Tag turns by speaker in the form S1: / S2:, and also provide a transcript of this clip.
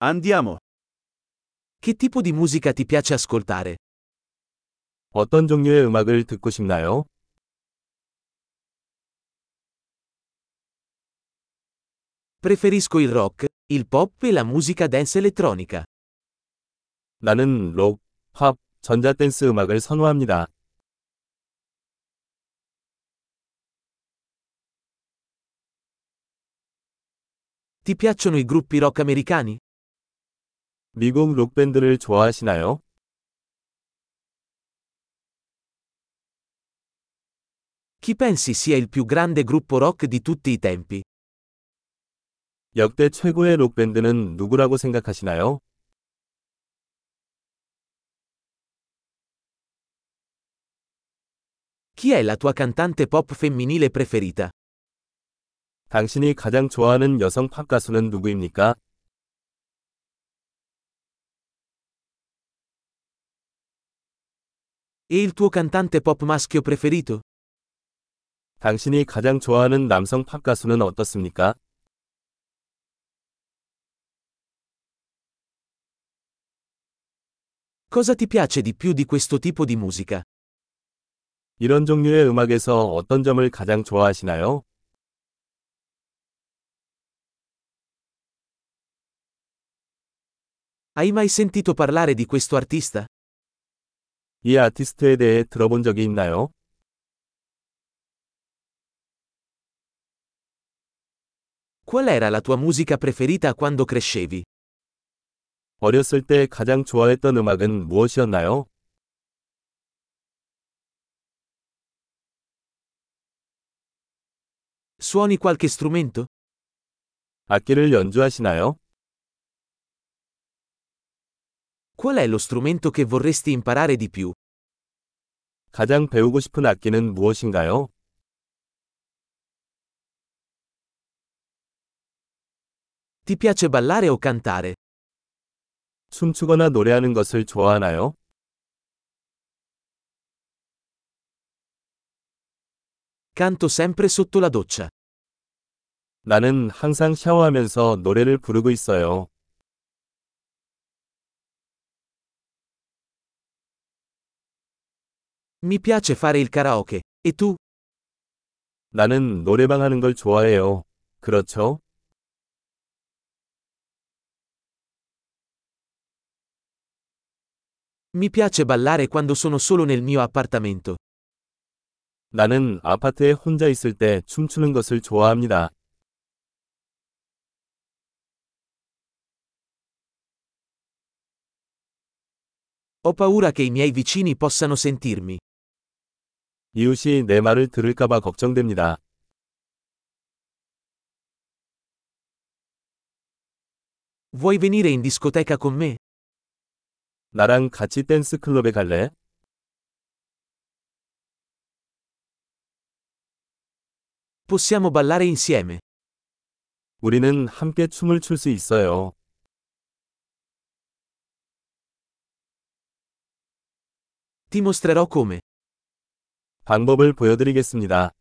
S1: Andiamo.
S2: Che tipo di musica ti piace ascoltare?
S3: 어떤 종류의 음악을 듣고 싶나요?
S2: Preferisco il rock, il pop e la musica dance elettronica.
S3: 나는 록, 팝, 전자댄스 음악을 선호합니다.
S2: Ti piacciono i gruppi rock americani?
S3: 미국 록밴드를 좋아하시나요?
S2: Chi pensi sia il più grande gruppo rock di tutti i tempi?
S3: 역대 최고의 록밴드는 누구라고 생각하시나요?
S2: Chi è la tua cantante pop femminile preferita?
S3: 당신이 가장 좋아하는 여성 팝 가수는 누구입니까?
S2: E il tuo cantante pop maschio preferito?
S3: 당신이 가장 좋아하는 남성 팝 가수는 어떻습니까?
S2: Cosa ti piace di più di questo tipo di musica?
S3: 이런 종류의 음악에서 어떤 점을 가장 좋아하시나요?
S2: Hai mai sentito parlare di questo artista?
S3: 이 아티스트에 대해 들어본 적이 있나요?
S2: Qual era la tua musica preferita quando crescevi?
S3: 어렸을 때 가장 좋아했던 음악은 무엇이었나요?
S2: Suoni qualche strumento?
S3: 악기를 연주하시나요?
S2: Qual è lo strumento che vorresti imparare di più?
S3: 가장 배우고 싶은 악기는 무엇인가요?
S2: Ti piace ballare o cantare?
S3: 춤추거나 노래하는 것을 좋아하나요?
S2: Canto sempre sotto la doccia.
S3: 나는 항상 샤워하면서 노래를 부르고 있어요.
S2: Mi piace fare il karaoke. E tu?
S3: 나는 노래방 하는 걸 좋아해요. 그렇죠?
S2: Mi piace ballare quando sono solo nel mio appartamento.
S3: 나는 아파트에 혼자 있을 때 춤추는 것을 좋아합니다.
S2: Ho paura che i miei vicini possano sentirmi.
S3: 이웃이 내 말을 들을까봐 걱정됩니다.
S2: Vuoi venire in discoteca con me?
S3: 나랑 같이 댄스 클럽에 갈래?
S2: Possiamo ballare insieme.
S3: 우리는 함께 춤을 출 수 있어요.
S2: Ti mostrerò come.
S3: 방법을 보여드리겠습니다.